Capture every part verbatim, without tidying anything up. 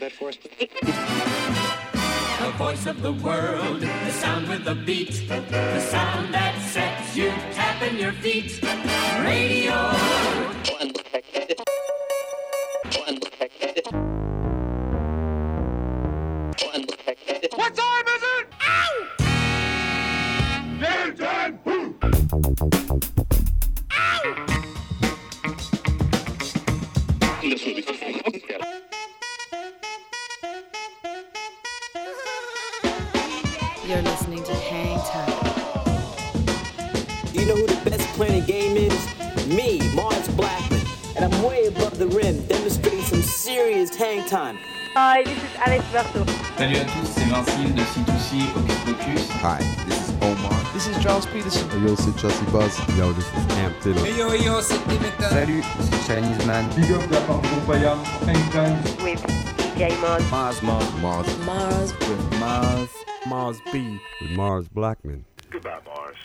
that for us? The voice of the world, the sound with the beat, the sound that sets you tapping your feet. Radio. What time is it? Ow! Damn time! Ow! You're listening to Hang Time. You know who the best player in the game is? Me, Mars Blackman. And I'm way above the rim, demonstrating some serious hang time. Hi, this is Alex Berto. Salut à tous, c'est Vincile de C two C Hocus Pocus. Hi, this is Omar. This is Charles Peterson. Hey yo, c'est Chelsea Buzz. Yo, this is Cam Taylor. Hey yo, yo, c'est Dimitra. Salut, c'est Chinese Man. Big up la part de Compaya. Anytime. With D J Mars. Mars, Mars, Mars. Mars. With Mars. Mars B. With Mars Blackman. Goodbye, Mars.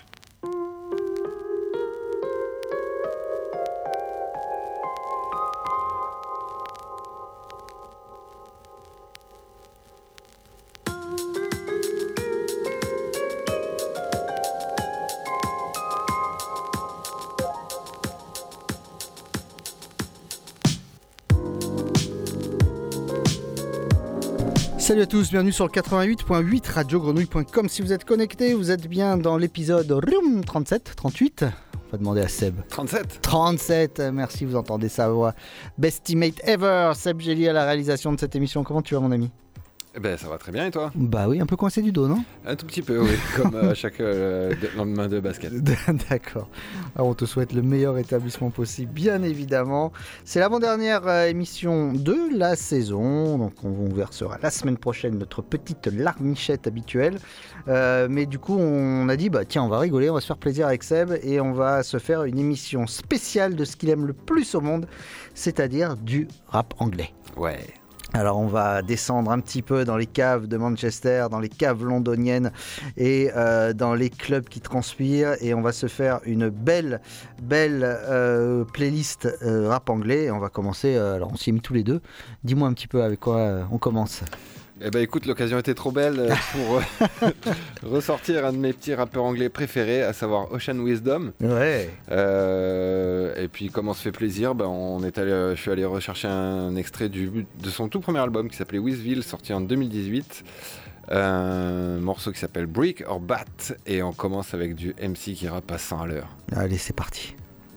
Salut à tous, bienvenue sur le quatre-vingt-huit point huit radio grenouille point com. Si vous êtes connectés, vous êtes bien dans l'épisode trente-sept, trente-huit. On va demander à Seb. trente-sept. trente-sept, merci, vous entendez sa voix. Best teammate ever, Seb Gély à la réalisation de cette émission. Comment tu vas, mon ami ? Eh ben, ça va très bien, et toi ? Bah oui, un peu coincé du dos, non ? Un tout petit peu, oui, comme à chaque euh, lendemain de basket. D'accord. Alors, on te souhaite le meilleur établissement possible, bien évidemment. C'est l'avant-dernière euh, émission de la saison, donc on vous versera la semaine prochaine notre petite larmichette habituelle. Euh, mais du coup, on a dit, bah tiens, on va rigoler, on va se faire plaisir avec Seb et on va se faire une émission spéciale de ce qu'il aime le plus au monde, c'est-à-dire du rap anglais. Ouais. Alors on va descendre un petit peu dans les caves de Manchester, dans les caves londoniennes et euh, dans les clubs qui transpirent et on va se faire une belle, belle euh, playlist euh, rap anglais et on va commencer, euh, alors on s'y est mis tous les deux, dis-moi un petit peu avec quoi euh, on commence. Eh ben écoute, l'occasion était trop belle pour ressortir un de mes petits rappeurs anglais préférés, à savoir Ocean Wisdom. Ouais. Euh, et puis comme on se fait plaisir, ben on est allé, je suis allé rechercher un extrait du, de son tout premier album qui s'appelait Wizville, sorti en deux mille dix-huit. Un morceau qui s'appelle Brick or Bat et on commence avec du M C qui rappe à cent à l'heure. Allez, c'est parti.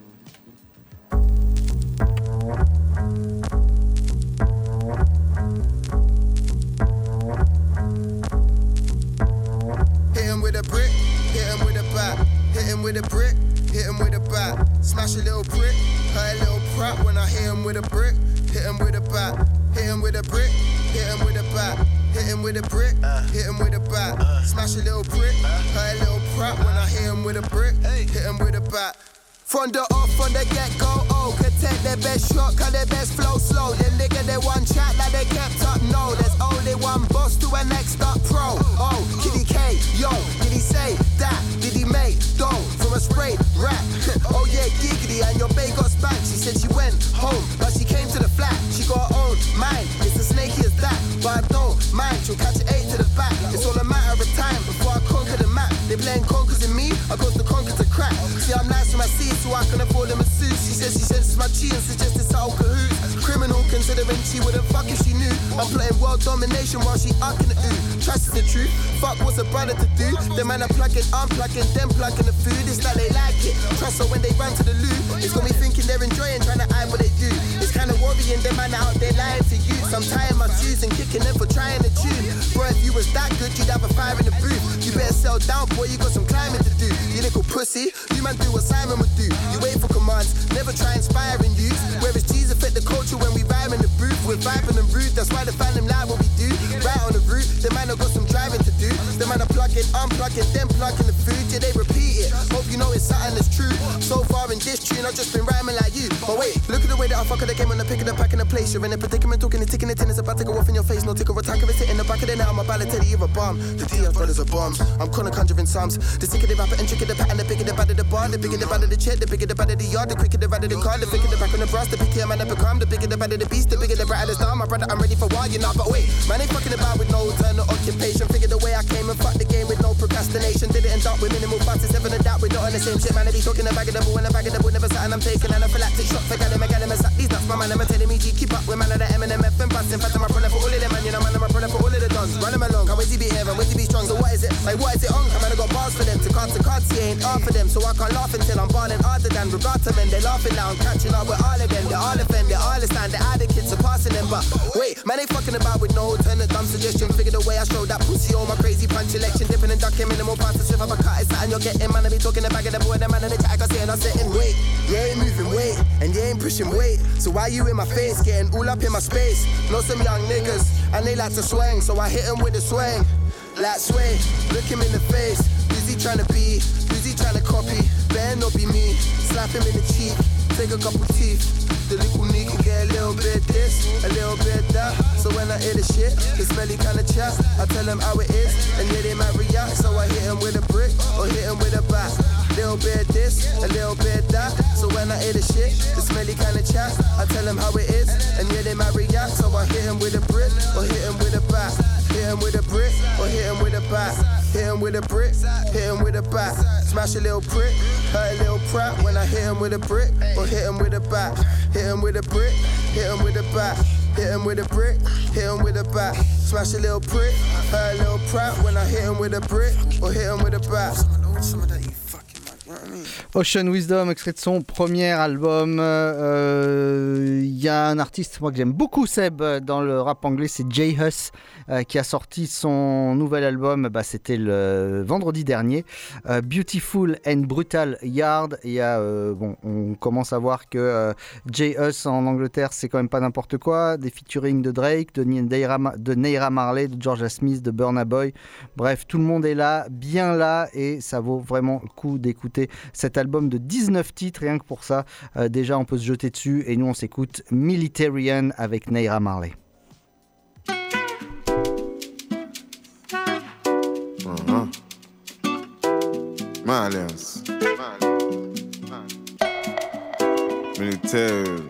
With a brick, hit him with a bat. Hit him with a brick, hit him with a bat. Smash a little brick, hurt a little prop. When I hit him with a brick, hit him with a bat. Hit him with a brick, hit him with a bat. Hit him with a brick, hit him with a bat. Smash a little brick, hurt a little prop. When I hit him with a brick, hit him with a bat. From the off, from the get-go, oh, could take their best shot, cause their best flow slow. Them nigga, they one chat like they kept up, no. There's only one boss to a next up pro. Oh, Kitty K, yo, did he say that? Did he make dough from a straight rap? Oh yeah, giggity, and your bae got spanked. She said she went home, but she came to the flat. She got her own mind, it's as snaky as that. But I don't mind, she'll catch an eight to the back. It's all a matter of time before I conquer the map. They playing conkers in me, I got the conquer to crack. See, I'm nice with my seeds, so I can afford them a suit. She says she senses my chi and suggested subtle cahoots. Criminal considering she wouldn't fuck if she knew. I'm playing world domination while she ucking the ooh. Trust is the truth, fuck what's a brother to do. The man are plugging, I'm plugging, them plugging the food. It's like they like it, trust her when they run to the loo. It's got me thinking they're enjoying, trying to hide what they do. It's kinda worrying, them man out there lying to you. So I'm tying my shoes and kicking them for trying to tune. Bro, if you was that good, you'd have a fire in the booth. You better sell down, boy, you got some climbing to do. You little pussy, you man do what Simon would do. You wait for commands, never try inspiring you. Whereas G's affect the culture when we rhyme in the booth. We're vibing and rude, that's why the fan them like what we do. Right on the route, the man have got some driving to do. The man are plugging, unplugging, then plugging the food. Yeah, they repeat it, hope you know it's something that's true. So far in this tune, I've just been rhyming like you. But wait, look at the way that I fuck the game when I pick it up, pack in the place. You're in a predicament, talking and ticking it in, it's about to go off in your face. No ticker or attack of it, sit in the back of the net. I'm about to tell you you're a bomb. The T F brothers are bombs. I'm kinda conjuring psalms. The sicker the rapper and tricker the pattern, the bigger the bad of the bar, the bigger the bad of the check, the bigger the bad of the yard, the quicker the bad of the car, the thicker the back on the brass, the pickier man I become, the bigger the bad of the beast, the bigger the bright of the star. My brother I'm ready for war, you know. But wait, man ain't fucking about with no alternate occupation. Figured the way I came and fucked the game with no procrastination. Did it end up with minimal fuss, it's never a doubt we're not on the same shit. Man, I be talking a bag of the bull and a bag of the bull, never something I'm taking. Anaphylactic shock, forget him, I got him, I suck these nuts. My man, I'm telling me G, keep up with man of the M and M F and bust. In fact, I'm a brother for all of them, man, you know, man, I'm a brother for all of the dons. Run him along, can't wait to be here, and wait to be strong. So what is it? Like, what is it on? Come on, I got bars for them, to cards to cards, he ain't hard for them. So I can't laugh until I'm balling harder than regard to men. They're laughing now, I'm catching up with all of them. They're all offend, they're all stand, they're the kids surpassing them. But wait, man ain't fucking about with no alternate dumb suggestion. Figure the way I showed that pussy on my crazy punch election. Dipping and ducking minimal parts to slip up a cut, it's that and you're getting. Man, I be talking the bag of the boy, the man in the chat, I see and I'm sitting. Wait, you ain't moving weight, and you ain't pushing weight. So why you in my face, getting all up in my space? Know some young niggas, and they like to swing, so I hit them with a swing. Like sway, look him in the face. Who's he trying to be? Who's he trying to copy? Better not be me. Slap him in the cheek, take a couple teeth. The little nigga get a little bit this, a little bit that. So when I hear the shit, the smelly kind of chat, I tell him how it is, and yeah, they might react. So I hit him with a brick, or hit him with a bat. Little bit this, a little bit that. So when I hear the shit, the smelly kind of chat, I tell him how it is, and yeah, they might react. So I hit him with a brick, or hit him with a bat. Hit him with a brick, or hit him with a bat. Hit him with a brick, hit him with a bat. Smash a little prick, hurt a little prat. When I hit him with a brick, or hit him with a bat. Hit him with a brick, hit him with a bat. Hit him with a brick, hit him with a bat. Smash a little prick, hurt a little prat. When I hit him with a brick, or hit him with a bat. Some of that, you fucking man, you know what I mean? Ocean Wisdom, extrait de son premier album. Il euh, y a un artiste moi que j'aime beaucoup, Seb, dans le rap anglais, c'est J Hus, euh, qui a sorti son nouvel album. Bah, c'était le vendredi dernier, euh, Beautiful and Brutal Yard. Il y a, euh, bon, on commence à voir que euh, J Hus en Angleterre, c'est quand même pas n'importe quoi. Des featuring de Drake, de Naira, de Naira Marley, de Georgia Smith, de Burna Boy. Bref, tout le monde est là, bien là, et ça vaut vraiment le coup d'écouter cet album de dix-neuf titres, rien que pour ça. Euh, déjà, on peut se jeter dessus, et nous, on s'écoute Militarian avec Naira Marley. Uh-huh. Malians. Military.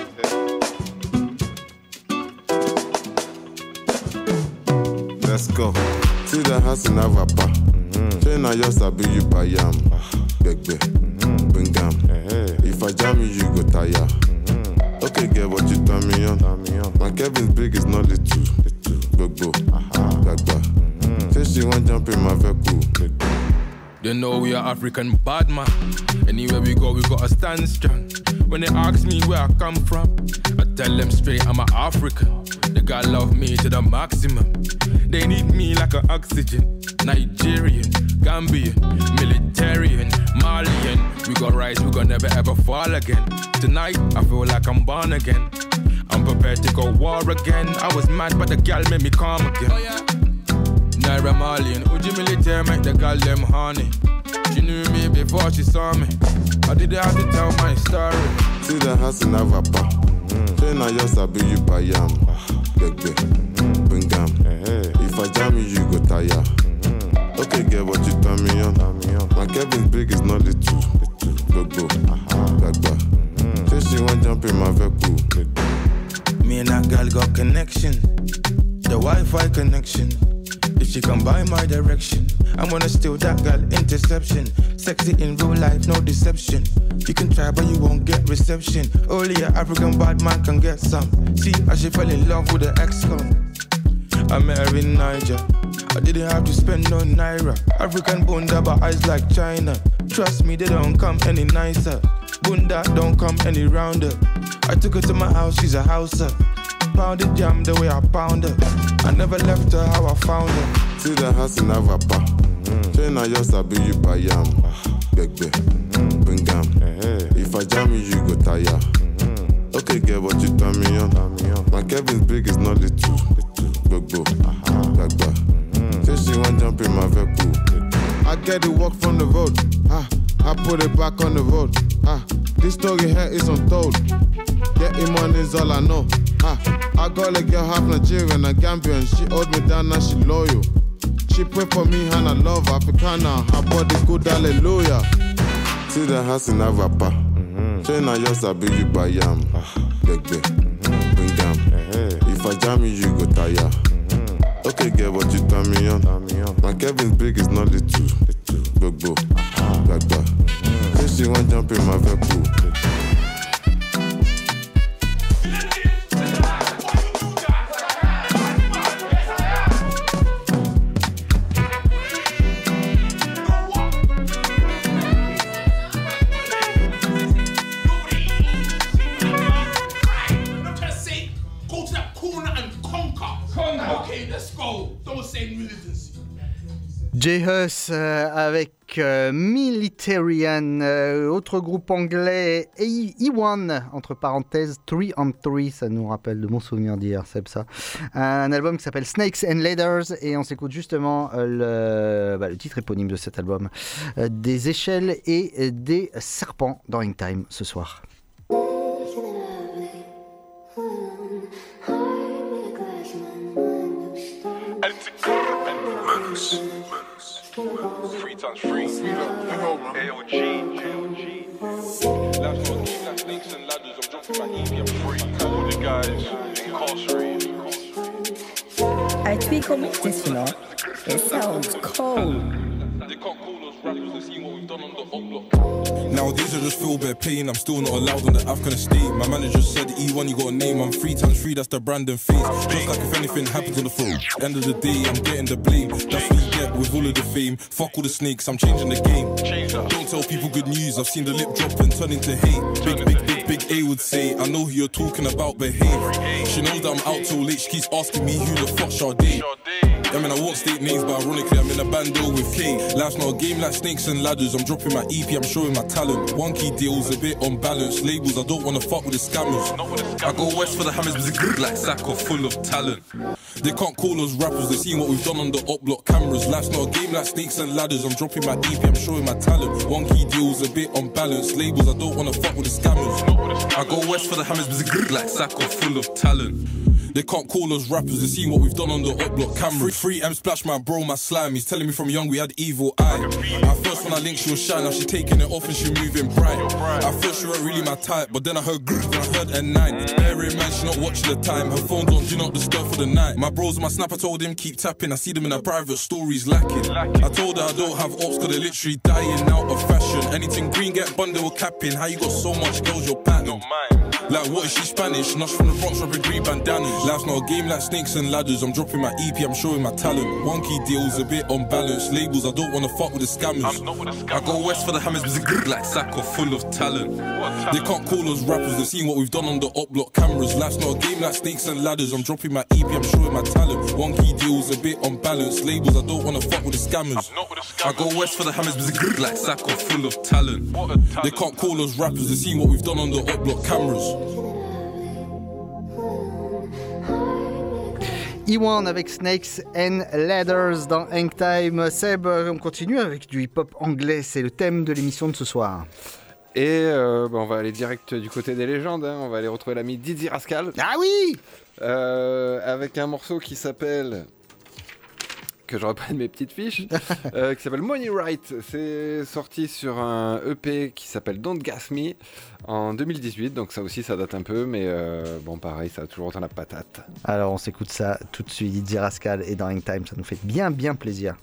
Let's go. See the house in Avapa. Train I just be you by yam. Beg beg. Bring them. If I jam you, you go tire. Okay, get what you tell me on. My Kevin's big is not little. Big bro. Bag bag. Say she want jump in my vehicle. They know we are African bad man. Anywhere we go, we gotta stand strong. When they ask me where I come from, I tell them straight I'm an African. They gotta love me to the maximum. They need me like an oxygen. Nigerian, Gambian, Militarian, Malian. We got rise, we gon' never ever fall again. Tonight, I feel like I'm born again. I'm prepared to go war again. I was mad, but the gal made me calm again. Oh, yeah. Naira Marley and Uji Military make the girl them honey. She knew me before she saw me. I didn't have to tell my story. See the house in Avapa. Train I just be you by yam. Beg beg. Bring them. If I jam you, you go tire. Okay, get what you tell me on. My Kevin's big is not little. Big bro. Bag bag. Say she want jump in my vehicle. Me and that girl got connection. The Wi-Fi connection. If she come by my direction, I'm gonna steal that girl, interception. Sexy in real life, no deception. You can try but you won't get reception. Only an African bad man can get some. See, I she fell in love with the ex-con. I met her in Niger. I didn't have to spend no naira. African bunda but eyes like China. Trust me, they don't come any nicer. Bunda don't come any rounder. I took her to my house, she's a houser. Pounded jam the way I pound her. I never left her how I found her. See the house in Avapa. Train I just be you by yam. Beg beg. Bring them. If I jam you, you go tire. Okay, get what you tell me on. My Kevin's big is not little. Big bro. Bag bag. Say she want jump in my vehicle. I get the walk from the road. Ah, I put it back on the road. Ah, this story here is untold. Getting money is all I know. Ah, I got a girl half Nigerian and Gambian. She hold me down and she loyal. She pray for me and I love Africana. Her body good, hallelujah. See the house in Avapa. Train I just be you by yam. Beg beg. Bring them. If If I jam you, you go tire. Mm-hmm. Okay, get what you turn me on. My Kevin's big is not little. Big bro, black bar. Say she want jump in my vehicle. J-Hus euh, avec euh, Militarian, euh, autre groupe anglais, E one, entre parenthèses, three on three, ça nous rappelle de bons souvenirs d'hier, c'est ça. Un album qui s'appelle Snakes and Ladders, et on s'écoute justement euh, le, bah, le titre éponyme de cet album, euh, des échelles et des serpents dans Hangtime ce soir. Manus, Manus, three times free, A O G, Last one, keep like snakes and ladders, I'm jumping my E P, I'm free, all the guys incarcerated. I tweak on this, you know, it sounds cold. They can't call us rappers, they see what we've done on the up block. Nowadays I just feel bare pain, I'm still not allowed on the Afghan estate. My manager said E one you got a name, I'm three times free, that's the brand and face. Just like if anything happens on the phone, end of the day I'm getting the blame. That's what you get with all of the fame. Fuck all the snakes, I'm changing the game. Don't tell people good news, I've seen the lip drop and turn into hate. Big, big, big, big A would say, I know who you're talking about, behave. She knows that I'm out till late, she keeps asking me who the fuck Sade. I mean I won't state names, but ironically I'm in a band deal with K. Life's not a game like snakes and ladders, I'm dropping my E P, I'm showing my talent. One key deal's a bit unbalanced, labels I don't wanna fuck with the scammers. I go west for the hammers, but it's grrr like Sacco, full of talent. They can't call us rappers, they seen what we've done on the up block cameras. Life's not a game like snakes and ladders, I'm dropping my E P, I'm showing my talent. One key deal's a bit unbalanced, labels I don't wanna fuck with the scammers. I go west for the hammers, but it's grrr like Sacco, full of talent. They can't call us rappers, they seen what we've done on the up block camera. Free M splash my bro, my slime. He's telling me from young we had evil eye. At first when I linked she was shy, now she taking it off and she moving bright. At first she weren't really my type, but then I heard grrr, then I heard N nine. Bear in mind she not watching the time, her phone's on do not disturb for the night. My bros on my snap, I told him keep tapping, I see them in her private stories lacking. I told her I don't have ops cause they're literally dying out of fashion. Anything green get bundle capping, how you got so much girls you're pattern. Like what is she Spanish? Nuts from the Bronx dropping green bandanas. Life's not a game like snakes and ladders, I'm dropping my E P, I'm showing my talent. One key deal's a bit unbalanced, labels I don't wanna fuck with the scammers. I go west for the hammers, but it's grrr like Sacco, full of talent. They can't call us rappers, they've seen what we've done on the up block cameras. Life's not a game like snakes and ladders, I'm dropping my E P, I'm showing my talent. One key deal's a bit unbalanced, labels I don't wanna fuck with the scammers. I go west for the hammers, but it's grrr like Sacco, full of talent. They can't call us rappers, they've seen what we've done on the up block cameras. E one avec Snakes and Ladders dans Hangtime. Seb, on continue avec du hip-hop anglais, c'est le thème de l'émission de ce soir. Et euh, bah on va aller direct du côté des légendes, hein. On va aller retrouver l'ami Dizzy Rascal. Ah oui euh, Avec un morceau qui s'appelle... que je reprenne mes petites fiches, euh, qui s'appelle Money Right. C'est sorti sur un E P qui s'appelle Don't Gas Me en deux mille dix-huit, donc ça aussi ça date un peu, mais euh, bon pareil, ça a toujours autant la patate. Alors on s'écoute ça tout de suite, Dizzy Rascal et dans Hangtime, ça nous fait bien bien plaisir.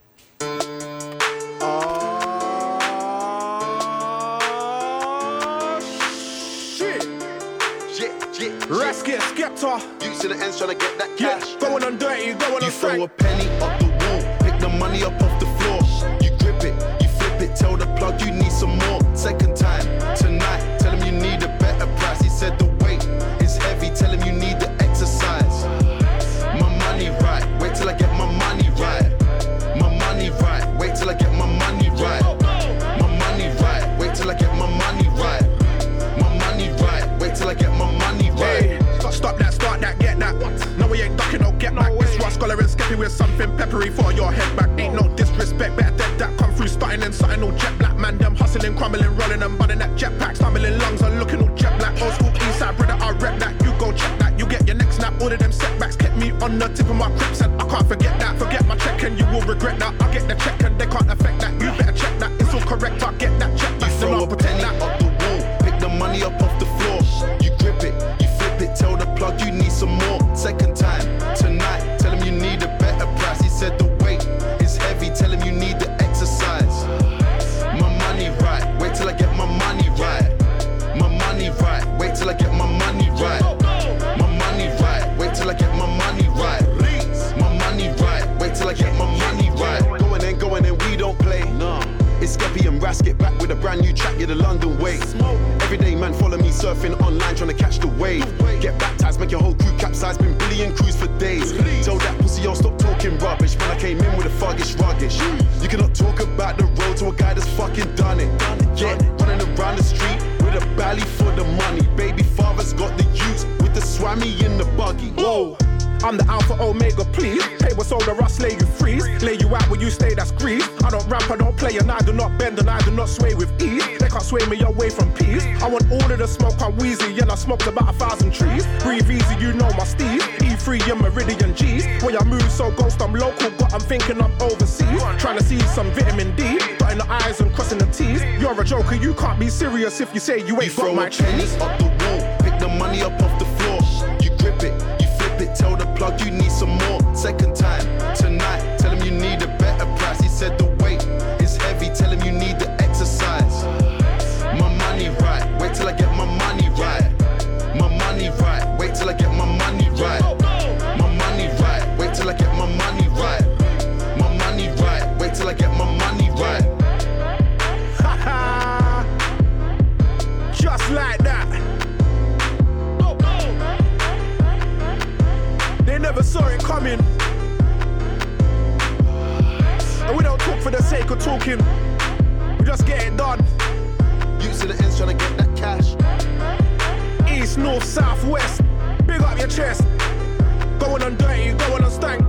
Rascal, Skepta, you to the ends trying to get that cash. Yeah. Going on dirty, going on straight. You throw a penny up the wall, pick the money up off the floor. You grip it, you flip it, tell the plug you need some more. Second time, tonight, tell him you need a better price. He said the weight is heavy, tell him you need the exercise. My money right, wait till I get my money right. My money right, wait till I get my money right. My money right, wait till I get my money right. My money right, wait till I get my money right. Hey, stop that, start that, get that. No, we ain't ducking, no get back. It's Ross Scholar and Skeppy with something peppery for your head back. Ain't no disrespect, better dead that come through, starting and something all jet black. Man, them hustling, crumbling, rolling and bunning that jetpack. Stumbling lungs and looking all jet black. Old school east side, brother, I rep that. You go check that, you get your next snap. All of them setbacks kept me on the tip of my crips, and I can't forget that. Forget my check and you will regret that. I get the check and they can't affect that. You better check that, it's all correct. I get that check back. You throw a penny up the wall, pick the money up off the floor. You grip it, you flip it, tell the plug you need some more. Second time tonight, tell him you need a better price. He said the weight is heavy, tell him you need the exercise. My money right, wait till I get my money right. My money right, wait till I get my money right. My money right, wait till I get my money right. My money right, wait till I get my money right. Going in, going in, we don't play. It's Skeppy and Rasket back with a brand new track, yeah, the London way. Everyday man follow me surfing online trying to catch the wave. Get baptized, make your whole crew capsize, been billion crews for days. Tell that pussy yo stop talking rubbish, man I came in with a fuggish ruggish. You cannot talk about the road to a guy that's fucking done it. Yeah, running around the street with a belly for the money. Baby father's got the youths with the swammy in the buggy. Whoa, I'm the Alpha Omega, please. Pay what's older, I slay you freeze. Lay you out where you stay, that's grease. I don't rap, I don't play, and I do not bend, and I do not sway with ease. They can't sway me away from peace. I want all of the smoke, I'm wheezy, and I smoked about a thousand trees. Breathe easy, you know my Steve. E three and Meridian G's. When I move so ghost, I'm local, but I'm thinking I'm overseas. Trying to see some vitamin D, dotting the I's and crossing the T's. You're a joker, you can't be serious if you say you ain't got my cheese. Up the wall, pick the money up off the floor. You grip it, you flip it, tell the plug you need some more. Second time tonight, tell him you need a better price. He said the weight is heavy, tell him you need the exercise. My money right, wait till I get my money right. My money right, wait till I get my money right. My money right, wait till I get my money right. My money right, wait till I get my money right. Haha, just like that. They never saw it coming. And we don't talk for the sake of talking. We just get it done. You to the ends trying to get that cash. East, north, south, west. Big up your chest. Going on dirty, going on stank.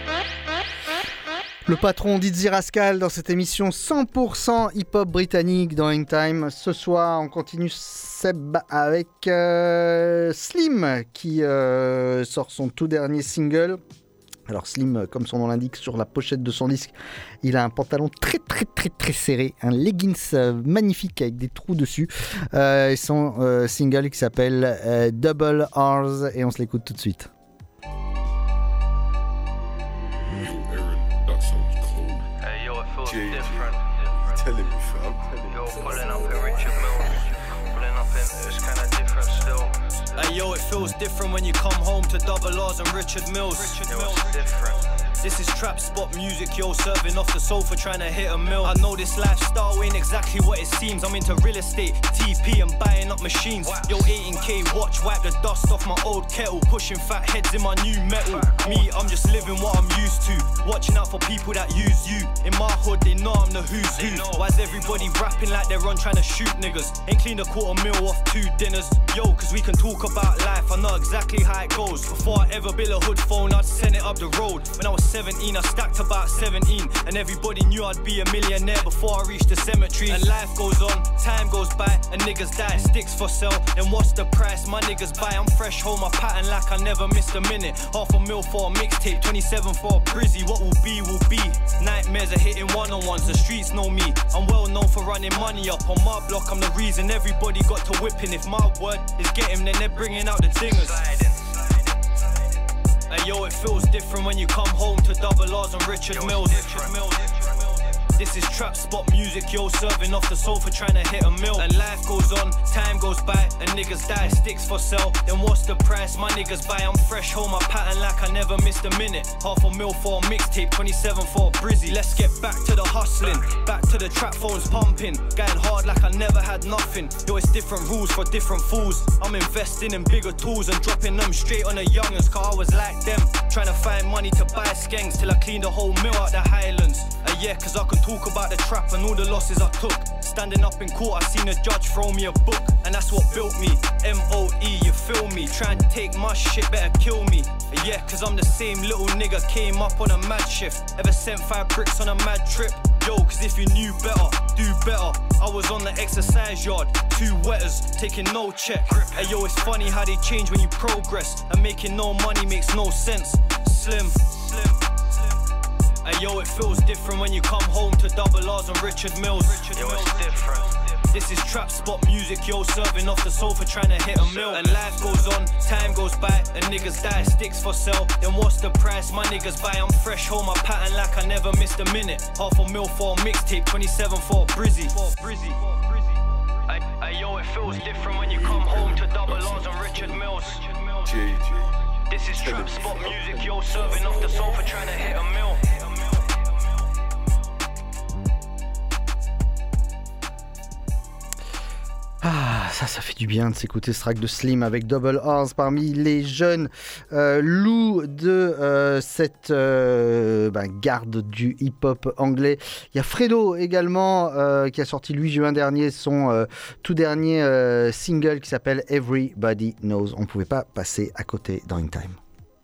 Le patron Dizzy Rascal dans cette émission cent pour cent hip-hop britannique dans Hangtime. Ce soir, on continue Seb avec euh, Slim qui euh, sort son tout dernier single. Alors Slim, comme son nom l'indique, sur la pochette de son disque, il a un pantalon très très très très serré, un leggings euh, magnifique avec des trous dessus. Euh, et son euh, single qui s'appelle euh, Double R's et on se l'écoute tout de suite. Telling me, fam. Yo, pulling up in Richard Mills. Pulling up in, it's kinda different still. Hey yo, it feels different when you come home to Double R's and Richard Mills. Richard Mills, it's different. This is trap spot music, yo, serving off the sofa trying to hit a mill. I know this lifestyle ain't exactly what it seems. I'm into real estate, T P and buying up machines. Yo, eighteen K watch, wipe the dust off my old kettle. Pushing fat heads in my new metal. Me, I'm just living what I'm used to. Watching out for people that use you. In my hood, they know I'm the who's who. Why's everybody rapping like they're on trying to shoot niggas? Ain't cleaned a quarter mil off two dinners. Yo, cause we can talk about life, I know exactly how it goes. Before I ever built a hood phone, I'd send it up the road. When I was seventeen, I stacked about seventeen. And everybody knew I'd be a millionaire before I reached the cemetery. And life goes on, time goes by, and niggas die. Sticks for sale, then what's the price? My niggas buy, I'm fresh home, my pattern like I never missed a minute. Half a mil for a mixtape, twenty-seven for a brizzy. What will be, will be. Nightmares are hitting one-on-ones, the streets know me. I'm well known for running money up. On my block, I'm the reason everybody got to whipping. If my word is get him, then they're bringing out the dingers. Hey yo, it feels different when you come home to Double R's and Richard Mills. This is trap spot music, yo, serving off the sofa trying to hit a mill. And life goes on, time goes by, and niggas die, sticks for sale. Then what's the price? My niggas buy, I'm fresh home, my pattern like I never missed a minute. Half a mil for a mixtape, twenty-seven for a brizzy. Let's get back to the hustling, back to the trap phones pumping. Going hard like I never had nothing. Yo, it's different rules for different fools. I'm investing in bigger tools and dropping them straight on the youngers, cause I was like them. Trying to find money to buy skanks till I cleaned the whole mill out the Highlands. Uh, yeah, cause I could talk about the trap and all the losses I took. Standing up in court, I seen a judge throw me a book, and that's what built me. M O E, you feel me? Trying to take my shit, better kill me. Uh, yeah, cause I'm the same little nigga, came up on a mad shift. Ever sent five bricks on a mad trip? Yo, cause if you knew better, do better. I was on the exercise yard, two wetters, taking no check. Hey yo, it's funny how they change when you progress, and making no money makes no sense. Slim, slim. Hey yo, it feels different when you come home to Double R's and Richard Mills. Richard yo, Mills. It's different. This is trap spot music, yo, serving off the sofa trying to hit a mill. And life goes on, time goes by, and niggas die, sticks for sale. Then what's the price? My niggas buy, I'm fresh, hold my pattern like I never missed a minute. Half a mil for a mixtape, twenty-seven for a Brizzy. Ay, ay, yo, it feels different when you come home to Double R's and Richard Mills. G G. This is trap spot music, yo, serving off the sofa trying to hit a mill. Ah, ça, ça fait du bien de s'écouter ce track de Slim avec Double R's parmi les jeunes euh, loups de euh, cette euh, ben, garde du hip-hop anglais. Il y a Fredo également euh, qui a sorti le huit juin dernier son euh, tout dernier euh, single qui s'appelle Everybody Knows. On ne pouvait pas passer à côté dans In Time.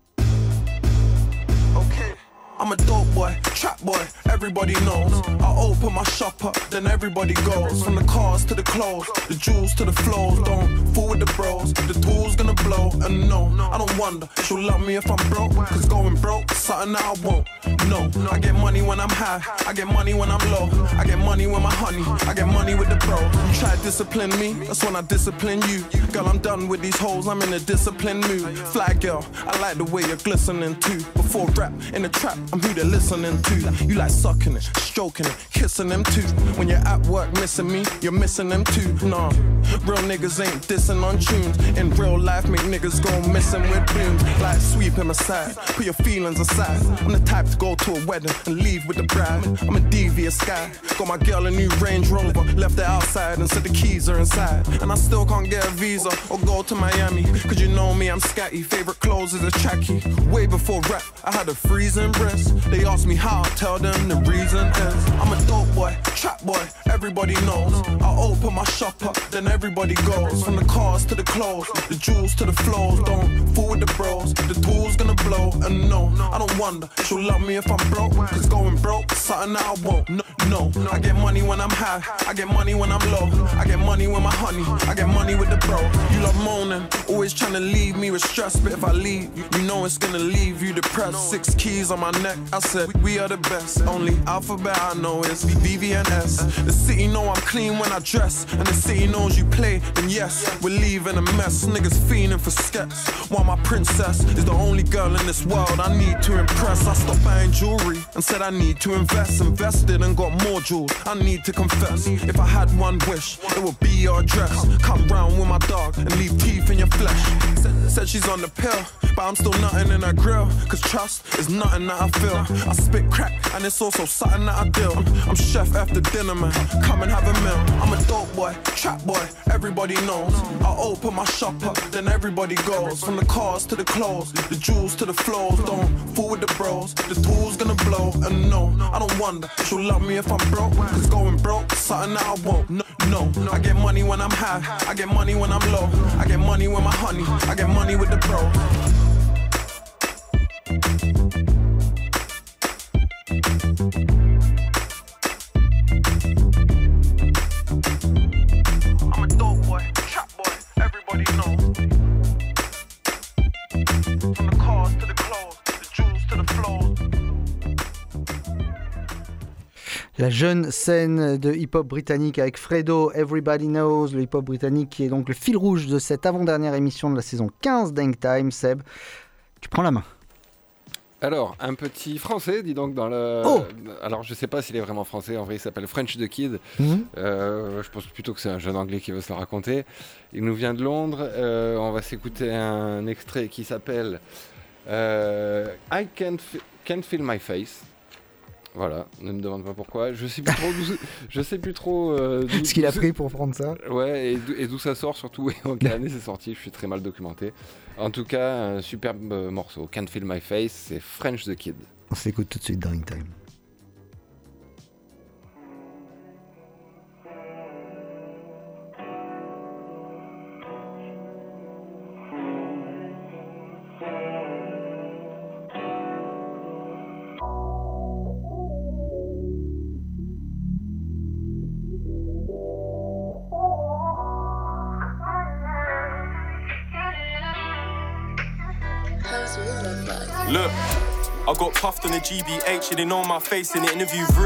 I'm a dope boy, trap boy, everybody knows. I open my shop up, then everybody goes. From the cars to the clothes, the jewels to the flows. Don't fool with the bros, the tool's gonna blow. And no, I don't wonder, she'll love me if I'm broke. Cause going broke, something that I won't. No, I get money when I'm high, I get money when I'm low. I get money with my honey, I get money with the bro. You try to discipline me, that's when I discipline you. Girl, I'm done with these hoes, I'm in a disciplined mood. Fly girl, I like the way you're glistening too. Before rap, in the trap, I'm who they're listening to. You like sucking it, stroking it, kissing them too. When you're at work missing me, you're missing them too. Nah, real niggas ain't dissing on tunes. In real life, make niggas go missing with blooms. Like sweep him aside, put your feelings aside. I'm the type to go to a wedding and leave with the bride. I'm a devious guy, got my girl a new Range Rover, left it outside and said the keys are inside. And I still can't get a visa or go to Miami, cause you know me, I'm scatty. Favorite clothes is a trackie. Way before rap, I had a freezing breast. They ask me how, I tell them the reason is I'm a dope boy, trap boy, everybody knows. I open my shop up, then everybody goes. From the cars to the clothes, the jewels to the flows. Don't fool with the bros, the tool's gonna blow. And no, I don't wonder, she'll love me if I'm broke. Cause going broke, something that I won't. No, no, I get money when I'm high, I get money when I'm low. I get money with my honey, I get money with the bro. You love moaning, always trying to leave me with stress. But if I leave, you know it's gonna leave you depressed. Six keys on my neck, I said, we are the best. Only alphabet I know is V V N S. The city know I'm clean when I dress, and the city knows you play, then yes, we're leaving a mess. Niggas fiending for skets, while my princess is the only girl in this world I need to impress. I stopped buying jewelry and said I need to invest. Invested and got more jewels, I need to confess. If I had one wish, it would be your address. Come round with my dog and leave teeth in your flesh. Said, said she's on the pill, but I'm still nothing in her grill. Cause trust is nothing that I feel. I spit crack and it's also something that I deal. I'm, I'm chef after dinner, man, come and have a meal. I'm a dope boy, trap boy, everybody knows. I open my shop up, then everybody goes. From the cars to the clothes, the jewels to the flows. Don't fool with the bros, the tool's gonna blow. And no, I don't wonder, she'll love me if I'm broke. Cause going broke, something that I won't. No, no, I get money when I'm high, I get money when I'm low. I get money with my honey, I get money with the bro. I'm a dope boy, trap boy, everybody knows. From the cars to the clothes, the jewels to the flows. La jeune scène de hip-hop britannique avec Fredo, Everybody Knows, le hip-hop britannique qui est donc le fil rouge de cette avant-dernière émission de la saison quinze d'Hang Time. Seb, tu prends la main. Alors, un petit français, dis donc, dans le... Oh Alors, je sais pas s'il est vraiment français, en vrai, il s'appelle French the Kid. Mm-hmm. Euh, je pense plutôt que c'est un jeune anglais qui veut se le raconter. Il nous vient de Londres. Euh, on va s'écouter un extrait qui s'appelle euh, I can't, f- can't Feel My Face. Voilà, ne me demande pas pourquoi. Je sais plus trop d'où, je sais plus trop euh, d'où, ce qu'il a pris pour prendre ça. Ouais, et d'où, et d'où ça sort surtout, et en quelle année c'est sorti. Je suis très mal documenté. En tout cas, un superbe morceau. Can't Feel My Face, c'est French the Kid. On s'écoute tout de suite dans In Time. Look, I got puffed on the G B H, yeah, they know my face in the interview room.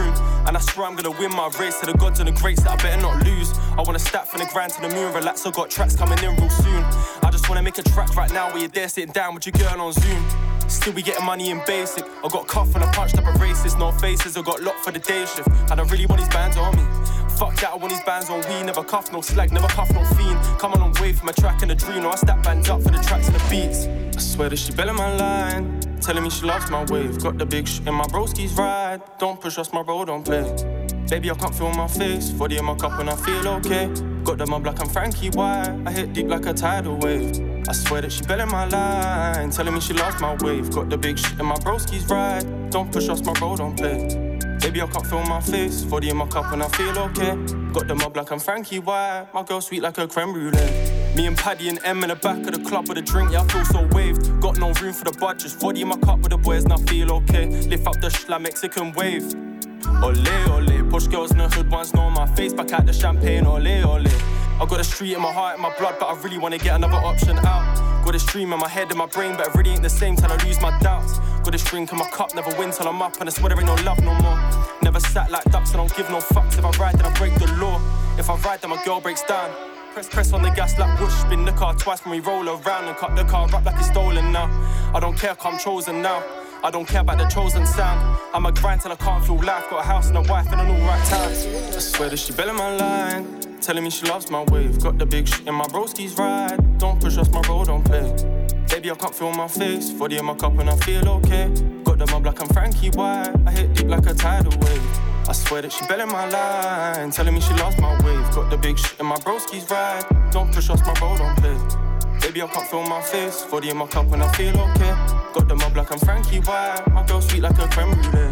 And I swear I'm gonna win my race to the gods and the greats that I better not lose. I wanna stack from the grind to the moon, relax, I got tracks coming in real soon. I just wanna make a track right now where you're there sitting down with your girl on Zoom. Still be getting money in basic. I got cuff and I punched up a racist. No faces, I got locked for the day shift. And I really want these bands on me. Fuck that, I want these bands on we. Never cuff, no slag, never cuff, no fiend. Come on, I'm way from a track and a dream. No, I stack bands up for the tracks and the beats. I swear that she belling my line, telling me she loves my wave. Got the big sh in my broski's ride. Don't push us, my bro, don't play. Baby, I can't feel my face. forty in my cup and I feel okay. Got the mob like I'm Frankie White. I hit deep like a tidal wave. I swear that she belling my line, telling me she loves my wave. Got the big shit in my broski's ride. Don't push us, my bro, don't play. Baby, I can't feel my face. forty in my cup and I feel okay. Got the mob like I'm Frankie White. My girl sweet like a creme brulee. Me and Paddy and M in the back of the club with a drink, yeah, I feel so waved. Got no room for the budgets. forty in my cup with the boys and I feel okay. Lift up the schla Mexican wave. Ole, ole, push girls in the hood once know my face. Back at the champagne, ole, ole. I got a street in my heart and my blood, but I really wanna get another option out. Got a stream in my head and my brain, but it really ain't the same till I lose my doubts. Got this drink in my cup, never win till I'm up, and I swear there ain't no love no more. Never sat like ducks, I don't give no fucks. If I ride, then I break the law. If I ride, then my girl breaks down. Press, press on the gas like whoosh. Spin the car twice when we roll around and cut the car up like it's stolen now. I don't care, I'm chosen now. I don't care about the chosen sound. I'm a grind till I can't feel life. Got a house and a wife and an alright time. I swear that she belling my line, telling me she loves my wave. Got the big shit in my broski's ride. Don't push us, my bro, don't play. Baby, I can't feel my face. forty in my cup and I feel okay. Got the mob like I'm Frankie White. I hit deep like a tidal wave. I swear that she belling my line, telling me she loves my wave. Got the big shit in my broski's ride. Don't push us, my bro, don't play. Baby, I can't feel my face. forty in my cup and I feel okay. Got the mob like I'm Frankie White. My girl sweet like a creme brulee.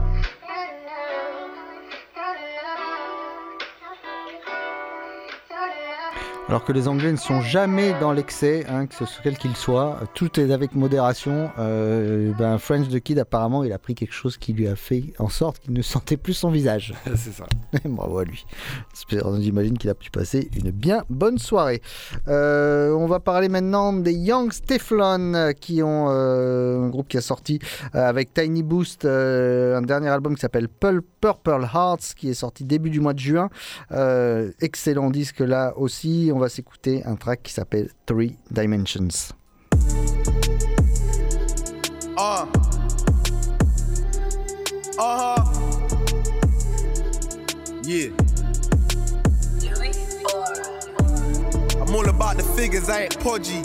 Alors que les Anglais ne sont jamais dans l'excès, hein, que ce soit quel qu'il soit, tout est avec modération. Euh, ben French the Kid, apparemment, il a pris quelque chose qui lui a fait en sorte qu'il ne sentait plus son visage. C'est ça. Bravo à lui. J'imagine qu'il a pu passer une bien bonne soirée. Euh, on va parler maintenant des Young Stefflon, qui ont euh, un groupe qui a sorti euh, avec Tiny Boost euh, un dernier album qui s'appelle Purple Hearts, qui est sorti début du mois de juin. Euh, excellent disque là aussi. On va s'écouter un track qui s'appelle Three Dimensions. Uh. Uh-huh. Yeah. I'm all about the figures, I ain't podgy.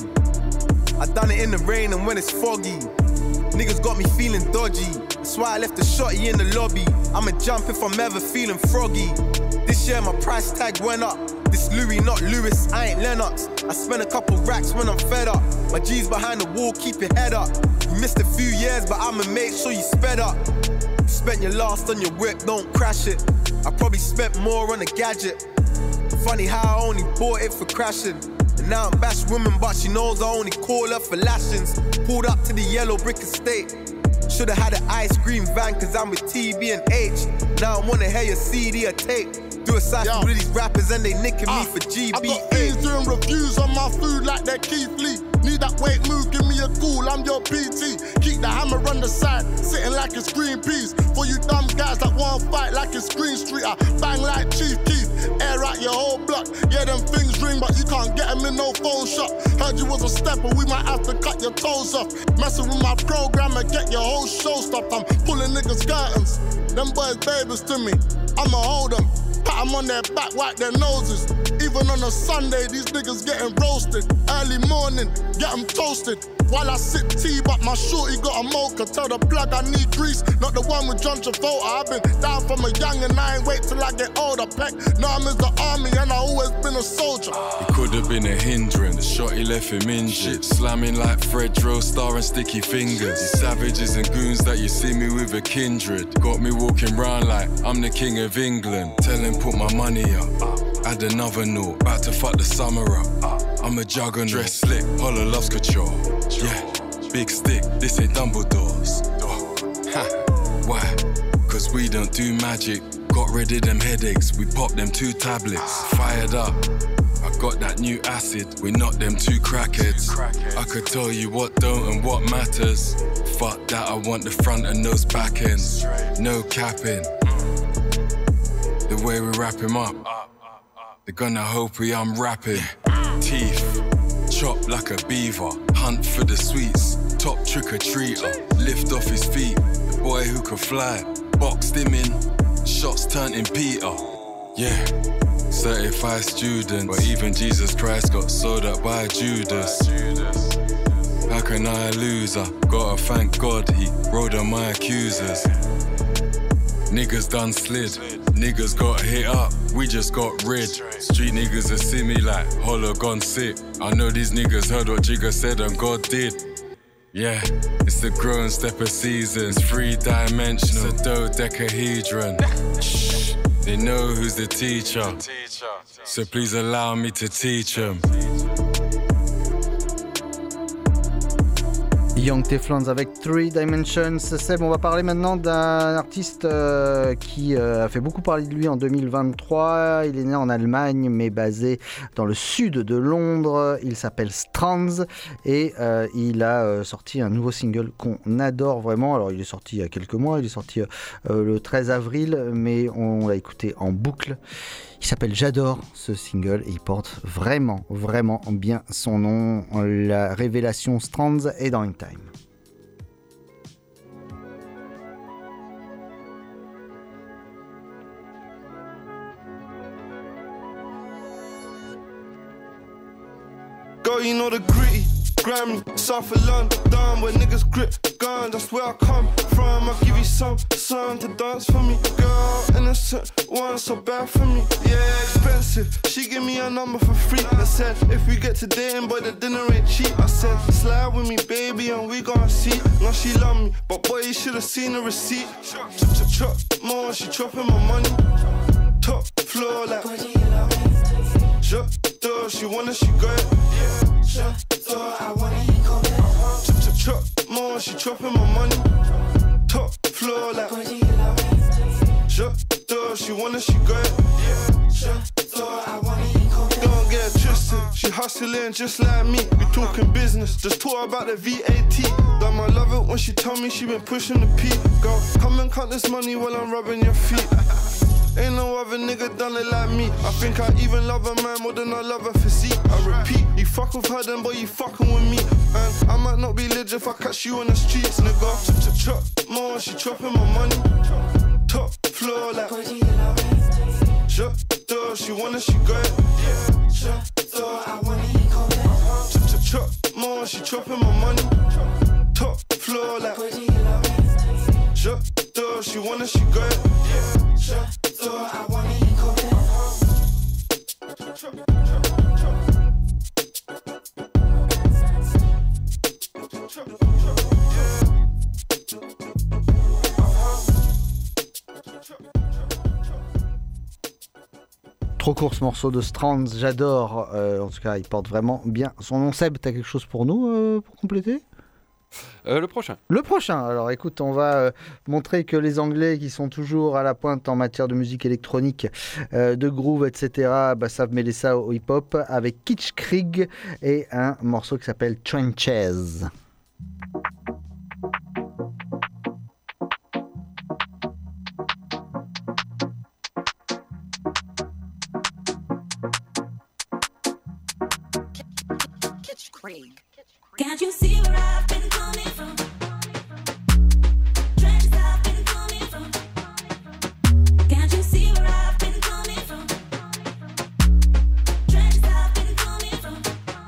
I done it in the rain and when it's foggy. Niggas got me feeling dodgy. That's why I left the shotty in the lobby. I'ma jump if I'm ever feeling froggy. This year my price tag went up. This Louis, not Lewis, I ain't Lennox. I spend a couple racks when I'm fed up. My G's behind the wall, keep your head up. You missed a few years, but I'ma make sure you sped up. Spent your last on your whip, don't crash it. I probably spent more on a gadget. Funny how I only bought it for crashing. And now I'm bash women, but she knows I only call her for lashings. Pulled up to the yellow brick estate. Should've had an ice cream van, cause I'm with T B and H. Now I wanna hear your C D or tape. Do a cypher with these rappers and they nicking uh, me for G B A. I got fiends doing reviews on my food like they're Keith Lee. Need that weight move, give me a call, I'm your P T. Keep the hammer on the side, sitting like it's Greenpeace. For you dumb guys that won't fight like it's Green Street, I bang like Chief Keef. Air out your whole block, yeah them things ring but you can't get them in no phone shop. Heard you was a stepper, we might have to cut your toes off. Messing with my program and get your whole show stopped. I'm pulling niggas curtains, them boys babies to me, I'ma hold them. Pat them on their back, wipe their noses. Even on a Sunday, these niggas getting roasted. Early morning, get them toasted. While I sip tea, but my shorty got a mocha. Tell the plug I need grease, not the one with John Travolta. I've been down from a young and I ain't wait till I get older. Peck, now I'm in the army and I always been a soldier. It could have been a hindrance, the shorty left him injured. Slamming like Fred Dro, star and sticky fingers. These savages and goons that you see me with a kindred. Got me walking round like I'm the king of England. Tell him put my money up, add another note. About to fuck the summer up, I'm a juggernaut. Dress slick, holla loves couture. Yeah, big stick, this ain't Dumbledore's. Ha, why? Cause we don't do magic. Got rid of them headaches, we popped them two tablets. Fired up, I got that new acid. We knocked them two crackheads. I could tell you what don't and what matters. Fuck that, I want the front and those back ends. No capping. the way we wrap him up. They're gonna hope we unwrapping. Teeth, chop like a beaver. Hunt for the sweets, top trick-or-treater. Lift off his feet, the boy who could fly. Boxed him in, shots turned in Peter. Yeah, certified student. But even Jesus Christ got sold up by Judas. How can I lose? I gotta thank God he rode on my accusers. Niggas done slid, niggas got hit up, we just got rid. Street niggas are see me like hollow gone sick. I know these niggas heard what Jigga said and God did. Yeah, it's the grown step of seasons, three dimensional, it's a dodecahedron. Shh, they know who's the teacher, so please allow me to teach them. Young Teflons avec Three Dimensions. Seb, on va parler maintenant d'un artiste euh, qui euh, a fait beaucoup parler de lui en deux mille vingt-trois. Il est né en Allemagne mais basé dans le sud de Londres. Il s'appelle Strands et euh, il a euh, sorti un nouveau single qu'on adore vraiment. Alors il est sorti il y a quelques mois, il est sorti euh, le treize avril, mais on l'a écouté en boucle. Il s'appelle J'adore ce single et il porte vraiment, vraiment bien son nom. La révélation Strands est dans In Time. Girl, you know the gritty, grimy, south of London, where niggas grip guns, that's where I come from. I'll give you some, some to dance for me. Girl, innocent, one so bad for me. Yeah, expensive, she give me a number for free. I said, if we get to dating, boy, the dinner ain't cheap. I said, slide with me, baby, and we gonna see. Now she love me, but boy, you should've seen the receipt. Chop, chop, chop, more, she chopping my money. Top floor like J'adore, she wanna, she got it. J'adore, I wanna, he gon' get it. Chop, chop, chop, more, she chopping my money. Top floor like J'adore, she wanna, she got it. J'adore, I wanna, he gon' get it. Don't get twisted, she hustling just like me. We talking business, just talk about the V A T. Damn, I love it when she tell me she been pushing the P. Girl, come and count this money while I'm rubbing your feet. Ain't no other nigga done it like me. I think I even love a man more than I love her physique. I repeat, you fuck with her then boy you fucking with me. And I might not be legit if I catch you on the streets, nigga. Chop, chop, chop, more, she chopping my money. Top floor like J'adore, she wanna, she got it. J'adore, I wanna, he gon' get it. Chop, chop, chop, more, she chopping my money. Top floor like J'adore, she wanna, she got it. J'adore, I wanna, he gon' get it. Trop court ce morceau de Strands, j'adore. Euh, en tout cas, il porte vraiment bien son nom. Seb, t'as quelque chose pour nous euh, pour compléter ? Euh, le prochain. Le prochain. Alors écoute, on va euh, montrer que les Anglais qui sont toujours à la pointe en matière de musique électronique, euh, de groove, et cetera, bah, savent mêler ça au hip-hop avec Kitschkrieg et un morceau qui s'appelle Trenches. Can't you see where I've been coming from? Trenches I've been coming from. Can't you see where I've been coming from? Trenches I've been coming from.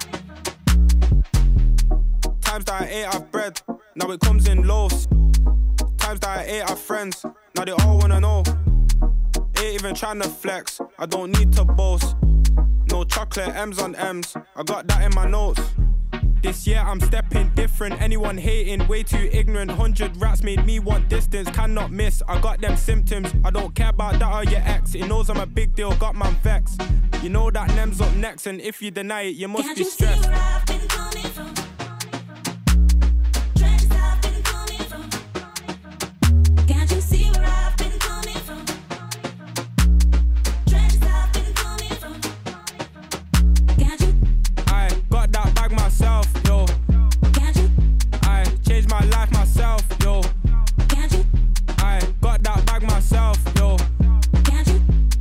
Times that I ate off bread, now it comes in loaves. Times that I ate off friends, now they all wanna know. Ain't even tryna flex, I don't need to boast. No chocolate M's on M's, I got that in my notes. This year I'm stepping different, anyone hating, way too ignorant. Hundred rats made me want distance, cannot miss, I got them symptoms. I don't care about that or your ex, it knows I'm a big deal, got man vexed. You know that Nem's up next, and if you deny it, you must Can't be you stressed. see where I've been coming from? Trenches I've been coming from. Can't you see where I've been coming from? Trenches I've been coming from. Can't you? I got that bag myself, yo. Can't you? I changed my life myself, yo. Can't you? I got that bag myself, yo. Can't you?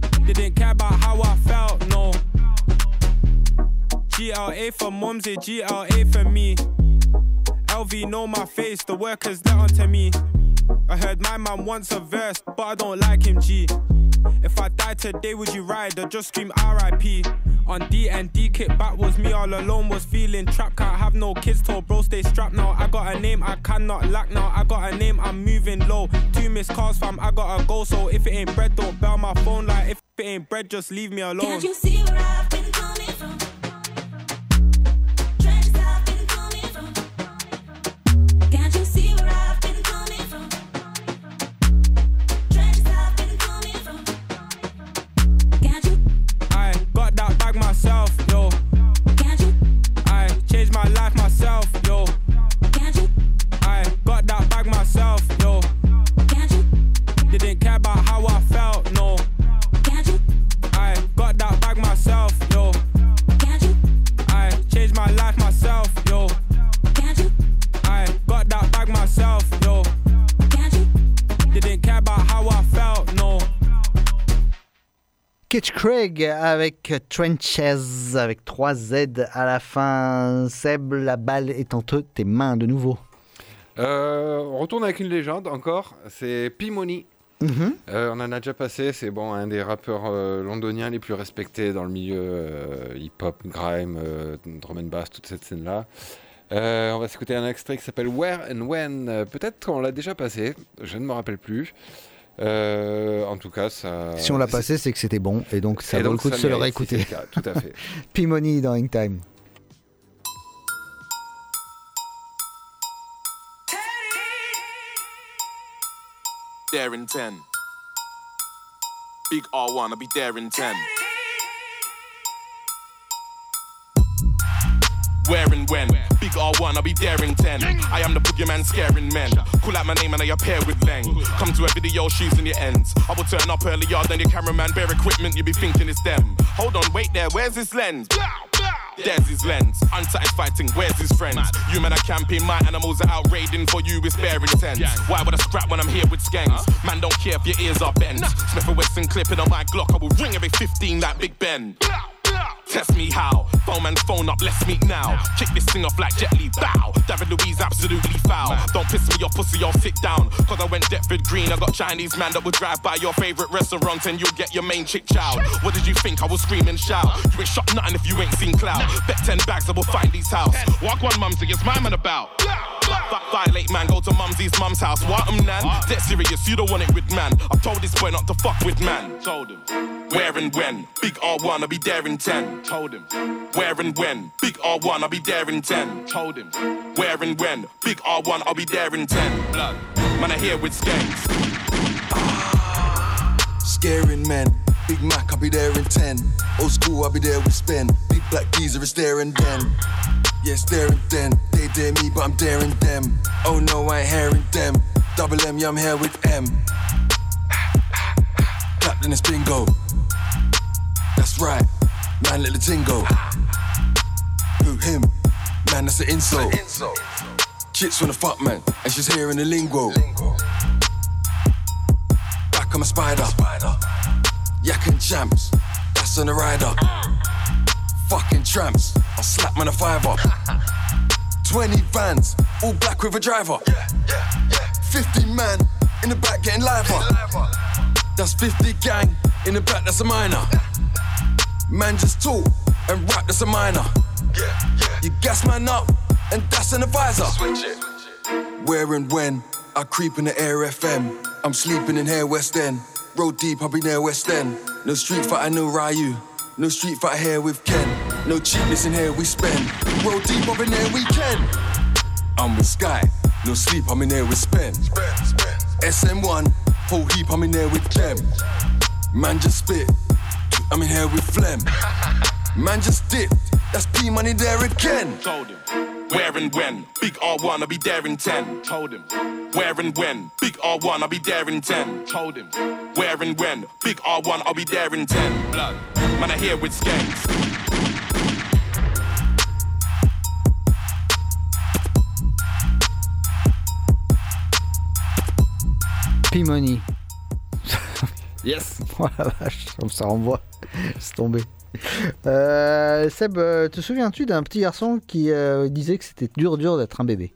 your mum's a G L A for me. L V know my face, the workers let onto me. I heard my man wants a verse, but I don't like him, G. If I die today, would you ride or just scream R I P? On D and D, kick back was me all alone, was feeling trapped. Can't have no kids, told bro stay strapped now. I got a name, I cannot lack now. I got a name, I'm moving low. Two missed calls, fam, I gotta go. So if it ain't bread, don't bell my phone. Like if it ain't bread, just leave me alone. Can't you see where I've been coming from? Trenches I've been coming from. Can't you see where I've been coming from? Trenches I've been coming from. Can't you? I got that bag myself, yo. Can't you? I changed my life myself, yo. Can't you? I got that bag myself, yo. Can't you? Didn't care about how I felt, no. Can't you? I got that bag myself, yo. Can't you? I changed my life myself, yo. Can't you? I got that bag myself, yo. Can't you? Didn't care about how I felt, no. Kitch Craig avec Trenches avec trois Z à la fin. Seb, la balle est entre tes mains de nouveau. Euh, on retourne avec une légende encore, c'est P-Money. Mm-hmm. Euh, on en a déjà passé, c'est bon, un des rappeurs euh, londoniens les plus respectés dans le milieu euh, hip-hop, grime, euh, drum and bass, toute cette scène-là. Euh, on va s'écouter un extrait qui s'appelle Where and When. Euh, peut-être qu'on l'a déjà passé, je ne me rappelle plus. Euh, en tout cas, ça. Si on l'a passé, c'est que c'était bon, et donc ça et vaut donc, le coup de ça se le mérite, réécouter. si c'est le cas, tout à fait. P-Money dans Hangtime. There in ten. Big R one, I'll be there in ten. Where and when? Big R one, I'll be there in ten. I am the boogeyman scaring men. Call out my name and I appear with Leng. Come to a video shooting your ends. I will turn up earlier than your cameraman. Bare equipment, you be thinking it's them. Hold on, wait there, where's his lens? There's his lens. Unsatisfied fighting, where's his friends? You men are camping, my animals are out raiding. For you, it's bare intense. Why would I scrap when I'm here with skanks? Man, don't care if your ears are bent. Smith and Wesson clipping on my Glock. I will ring every fifteen like Big Ben. Test me how. Phone man's phone up, let's meet now. Kick this thing off like Jet Li, bow. David Louise absolutely foul. Don't piss me off, pussy, I'll sit down. Cause I went Deptford Green. I got Chinese man that would drive by your favourite restaurant and you'll get your main chick chow. What did you think? I will scream and shout. You ain't shot nothing if you ain't seen clout. Bet ten bags, I will find these house. Walk one mumsy, it's my man about. Violate man, go to mumsy's mum's house. What um nan? Dead serious, you don't want it with man. I told this boy not to fuck with man. Told him. Where and when? Big R one, I'll be there in ten. Told him. Where and when? Big R one, I'll be there in ten. Told him. Where and when? Big R one, I'll be there in ten. Blood. Man, I here with skanks. Scaring men. Big Mac, I'll be there in ten. Old school, I'll be there with Spen. Big black geezer is there and then. Yeah, it's there and then. They dare me, but I'm daring them. Oh no, I ain't hearing them. Double M, yeah, I'm here with M. Clapped in this bingo. That's right, man, let the ting go. Who, him? Man, that's an insult. Chicks wanna fuck, man, and she's hearing the lingo. Back on my spider. Yak and champs, that's on the rider. Fucking tramps, I'll slap man a fiver. Twenty vans, all black with a driver. Fifty man in the back getting liver. That's fifty gang in the back, that's a minor. Man just talk and rap, that's a minor. You gas man up and that's an advisor. Where and when I creep in the Air F M. I'm sleeping in here West End. Road deep, I'll be near West End. No street fight, no Ryu. No street fight here with Ken. No cheapness in here we spend. Roll deep up in there we can. I'm with Sky. No sleep, I'm in there with Spen. S M one. Whole heap, I'm in there with them. Man just spit. I'm in here with phlegm. Man just dipped. That's P money there again. Told him. Where and when? Big R one, I'll be there in ten. Told him. Where and when? Big R one, I'll be there in ten. Told him. Where and when? Big R one, I'll be there in ten. Blood. Man, I here with skanks. P-Money. Yes. Oh la vache, ça renvoie. C'est tombé. Euh, Seb, euh, te souviens-tu d'un petit garçon qui euh, disait que c'était dur dur d'être un bébé?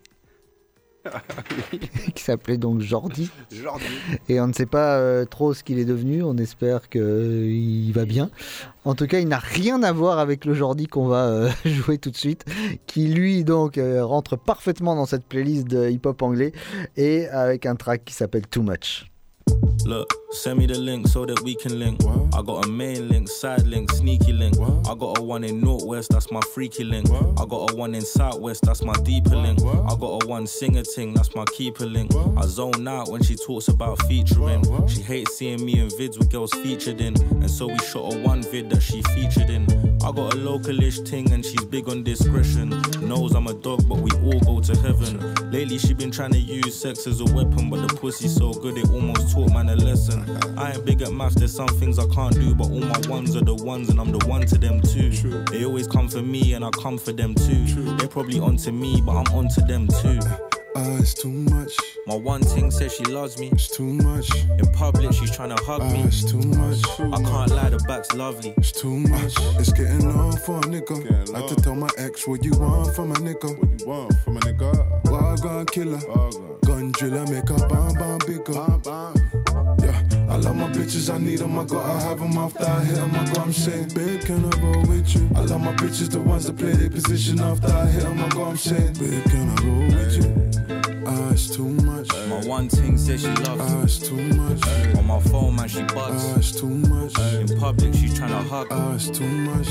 Qui s'appelait donc Jordi. Jordi. Et on ne sait pas euh, trop ce qu'il est devenu, on espère qu'il euh, va bien. En tout cas, il n'a rien à voir avec le Jordi qu'on va euh, jouer tout de suite, qui lui donc euh, rentre parfaitement dans cette playlist de hip-hop anglais et avec un track qui s'appelle Too Much. Look, send me the link so that we can link. What? I got a main link, side link, sneaky link. What? I got a one in Northwest, that's my freaky link. What? I got a one in Southwest, that's my deeper link. What? I got a one singer ting, that's my keeper link. What? I zone out when she talks about featuring. What? She hates seeing me in vids with girls featured in. And so we shot a one vid that she featured in. I got a localish ting and she's big on discretion. Knows I'm a dog but we all go to heaven. Lately she been trying to use sex as a weapon, but the pussy's so good it almost taught man a lesson. I ain't big at maths, there's some things I can't do, but all my ones are the ones and I'm the one to them too. True. They always come for me and I come for them too. True. They're probably onto me but I'm onto them too. Uh, it's too much. My one thing says she loves me. It's too much. In public she's trying to hug uh, me. It's too much. I can't lie, the back's lovely. It's too much. Uh, it's getting long for a nigga. I had to tell my ex what you want from a nigga. What you want from a nigga? Wild killer. Wild gun driller, make a bomb bomb bigger. Bam, bam. Yeah, I love my bitches, I need them, I gotta have them after I hit them. I got them saying, babe, can I roll with you? I love my bitches, the ones that play their position after I hit them. I got them saying, babe, can I roll with you? Ah, it's too much. My one thing says she loves me. Ah, it's too much. On my phone, man, she bugs. Ah, it's too much. In public, she's trying to hug me. Ah, it's too much.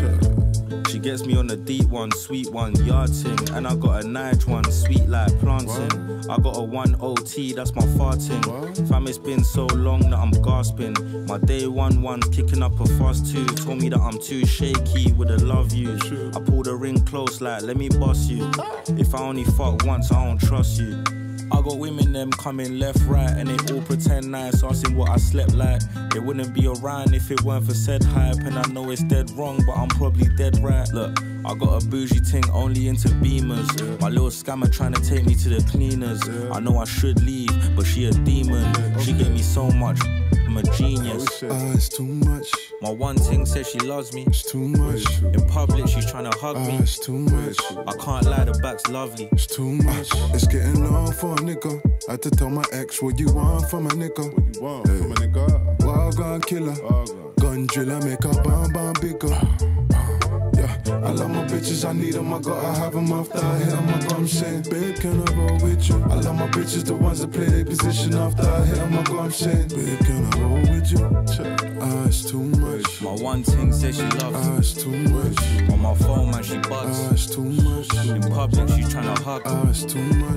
She gets me on the deep one, sweet one, yard ting. And I got a Nige one, sweet like planting. I got a one O T, that's my farting. Fam, it's been so long that I'm gasping. My day one one's kicking up a fuss too. Told me that I'm too shaky with a love you. I pulled the ring close like, let me boss you. If I only fuck once, I don't trust you. I got women them coming left, right, and they all pretend nice, asking what I slept like. They wouldn't be around if it weren't for said hype, and I know it's dead wrong, but I'm probably dead right. Look, I got a bougie ting only into beamers. Yeah. My little scammer trying to take me to the cleaners. Yeah. I know I should leave, but she a demon. Yeah. She gave me so much, I'm a genius. Ah, it's too much. My one ting says she loves me. It's too much. In public, she's trying to hug ah, me. It's too much. I can't lie, the back's lovely. It's too much. It's getting long for a nigga. I had to tell my ex what you want from a nigga. What you want hey. from a nigga? Wild gun killer. Wild gun. Gun driller, make a bomb bomb bigger. Yeah, I love my bitches, I need them, I gotta have them after I hit them. I got them saying, babe, can I roll with you? I love my bitches, the ones that play their position after I hit them. I got them saying, babe, can I roll with you? Ah, it's too much. My one thing says she loves me. Ah, it's too much. On my phone, man, she bugs. Ah, it's too much. In public, she's trying to hug. Ah, it's too much.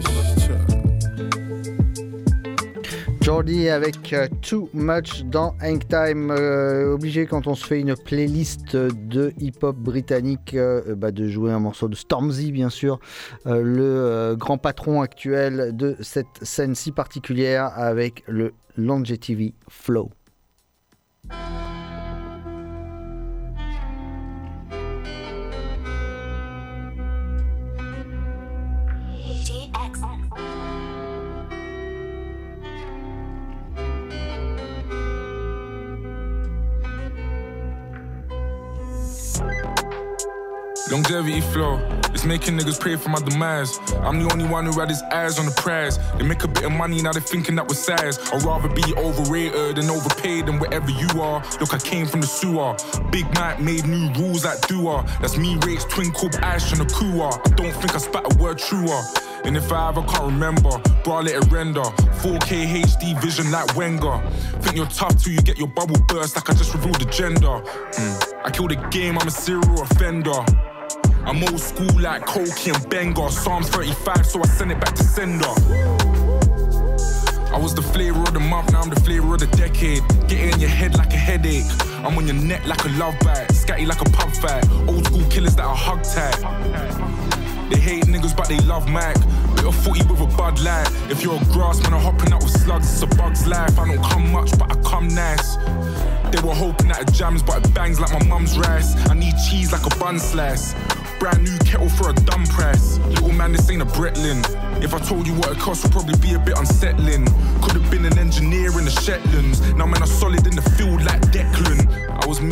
Jordi avec euh, Too Much dans Hang Time. Euh, obligé quand on se fait une playlist de hip-hop britannique euh, bah, de jouer un morceau de Stormzy bien sûr, euh, le euh, grand patron actuel de cette scène si particulière avec le Longevity Flow. Longevity flow, it's making niggas pray for my demise. I'm the only one who had his eyes on the prize. They make a bit of money, now they're thinking that we're size. I'd rather be overrated than overpaid than wherever you are. Look, I came from the sewer. Big Mike made new rules like Dua. That's me, Rates, Twinkle, Ash, and a Kua. I don't think I spat a word truer. And if I ever can't remember, bro, let it render. four K H D vision like Wenger. Think you're tough till you get your bubble burst like I just revealed the gender. Mm. I kill the game, I'm a serial offender. I'm old school like Koki and Benga. Psalms thirty-five, so I send it back to sender. I was the flavor of the month, now I'm the flavor of the decade. Get it in your head like a headache. I'm on your neck like a love bite. Scatty like a pub fight. Old school killers that are hug tight. They hate niggas but they love Mac. Bit of footy with a Bud Light. If you're a grass man, I'm hopping out with slugs. It's a bug's life. I don't come much but I come nice. They were hoping that it jams but it bangs like my mum's rice. I need cheese like a bun slice. Brand new kettle for a dumb price. Little man, this ain't a Bretlin. If I told you what it cost, would probably be a bit unsettling. Could have been an engineer in the Shetlands. Now man, I'm solid in the field like Declan. I was made in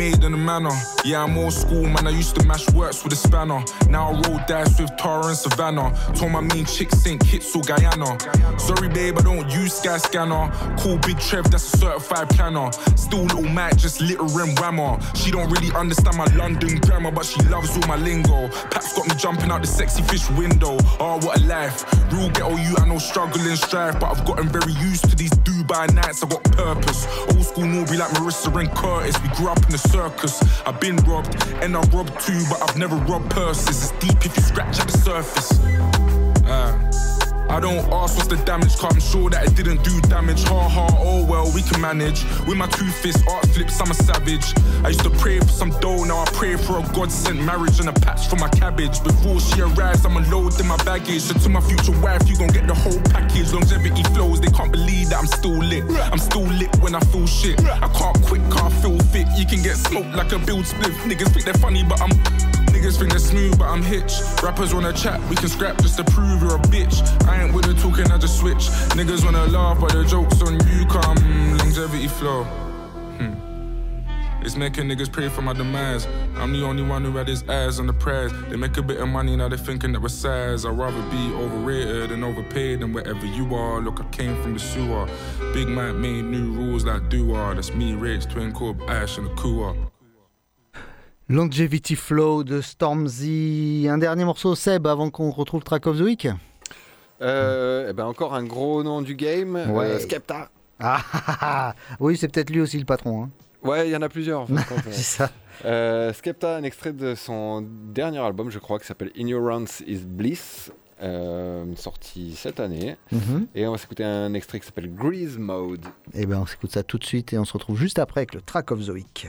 manner. Yeah, I'm old school, man. I used to mash works with a spanner. Now I roll dice with Tara and Savannah. Told my mean chick Saint Kitts or Guyana. Sorry, babe, I don't use Sky Scanner. Call Big Trev, that's a certified planner. Still little Mac, just littering whammer. She don't really understand my London grammar, but she loves all my lingo. Paps got me jumping out the sexy fish window. Oh, what a life. Real ghetto you, I know struggle and strife, but I've gotten very used to these Dubai nights. I got purpose. Old school Norby like Marissa and Curtis. We grew up in the circus. I've been robbed, and I robbed too, but I've never robbed purses. It's deep if you scratch at the surface. Uh. I don't ask what's the damage, cause I'm sure that it didn't do damage. Ha ha, oh well, we can manage. With my two fists, art flips, I'm a savage. I used to pray for some dough, now I pray for a God-sent marriage and a patch for my cabbage. Before she arrives, I'm unloading my baggage. So to my future wife, you gon' get the whole package. Longevity flows, they can't believe that I'm still lit. I'm still lit when I feel shit. I can't quit, cause I feel fit. You can get smoked like a build spliff. Niggas think they're funny, but I'm... Niggas think they're smooth, but I'm hitch. Rappers wanna chat, we can scrap just to prove you're a bitch. I ain't with the talking, I just switch. Niggas wanna laugh, but the joke's on you, come. Longevity flow. Hmm. It's making niggas pray for my demise. I'm the only one who had his eyes on the prize. They make a bit of money, now they thinking that we're size. I'd rather be overrated and overpaid than wherever you are. Look, I came from the sewer. Big man made new rules like do-are. That's me, Rage, Twin Corp, Ash and a Kua. Longevity Flow de Stormzy. Un dernier morceau, Seb, avant qu'on retrouve Track of the Week. Euh, et ben encore un gros nom du game, ouais. euh, Skepta. Ah, ah, ah, oui, c'est peut-être lui aussi le patron. Hein. Ouais, il y en a plusieurs. En fait, c'est ça. Euh, Skepta, un extrait de son dernier album, je crois, qui s'appelle Ignorance is Bliss, euh, sorti cette année. Mm-hmm. Et on va s'écouter un extrait qui s'appelle Grease Mode. Et ben on s'écoute ça tout de suite et on se retrouve juste après avec le Track of the Week.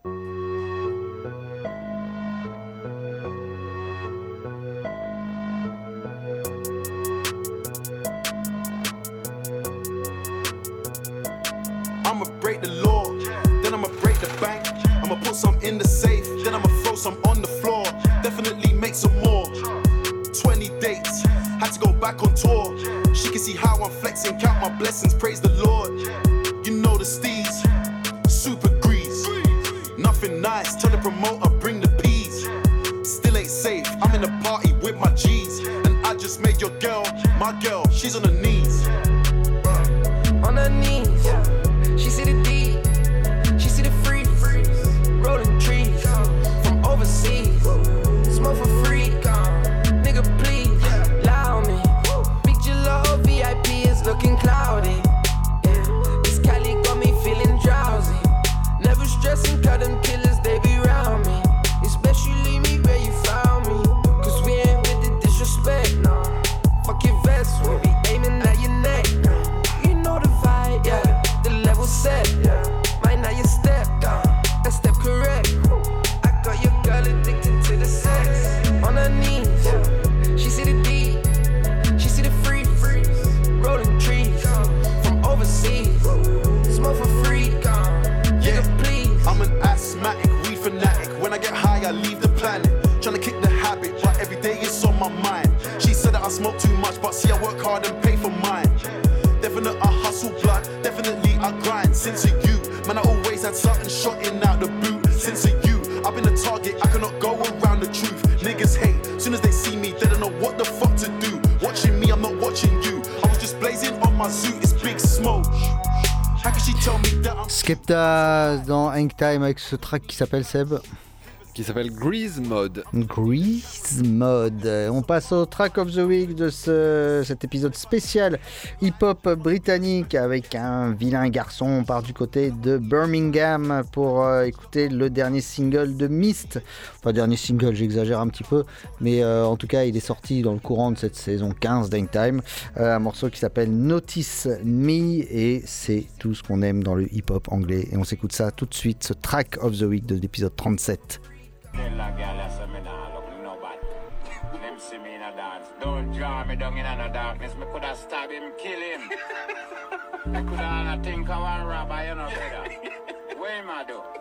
I'ma break the law, then I'ma break the bank. I'ma put some in the safe, then I'ma throw some on the floor. Definitely make some more. twenty dates, had to go back on tour. She can see how I'm flexing, count my blessings, praise the Lord. You know the steez, super grease. Nothing nice, tell the promoter bring the peas. Still ain't safe, I'm in the party with my G's. And I just made your girl, my girl, she's on her knees. On her knees. She see the D, she see the freeze, rolling trees from overseas. Smoke for free, nigga please, lie on me. Big J-Lo V I P is looking cloudy. Yeah. This Cali got me feeling drowsy. Never stressing, cut them killers, they be round me. Especially me where you found me. Cause we ain't with the disrespect, no. Fuck your vest, we be aiming at your neck. You know the vibe, yeah. Set, yeah. Right now you step down, and step correct. I got your girl addicted to the sex. On her knees, yeah. She see the D, she see the free, rolling trees from overseas. Smoke for free, yeah. Please. I'm an asthmatic, weed fanatic. When I get high, I leave the planet. Tryna kick the habit, but every day it's on my mind. She said that I smoke too much, but see I work hard and pay for mine. Definitely I hustle blood, definitely I grind. Since of you, man I always had something shotting out the boot. Since of you, I've been a target, I cannot go around the truth. Niggas hate, soon as they see me, they don't know what the fuck to do. Watching me, I'm not watching you. I was just blazing on my suit, it's big smoke. How can she tell me that I'm... Skepta dans Hang Time avec ce track qui s'appelle Seb qui s'appelle Grease Mode. Grease Mode. On passe au Track of the Week de ce, cet épisode spécial hip-hop britannique avec un vilain garçon. On part du côté de Birmingham pour euh, écouter le dernier single de Myst. Enfin, dernier single, j'exagère un petit peu, mais euh, en tout cas, il est sorti dans le courant de cette saison quinze d'Hang Time. Euh, un morceau qui s'appelle Notice Me et c'est tout ce qu'on aime dans le hip-hop anglais. Et on s'écoute ça tout de suite, ce Track of the Week de l'épisode trente-sept. Don't draw me down in the darkness. Me coulda stab him, kill him. I coulda think I want robber, you know, brother. What am I do?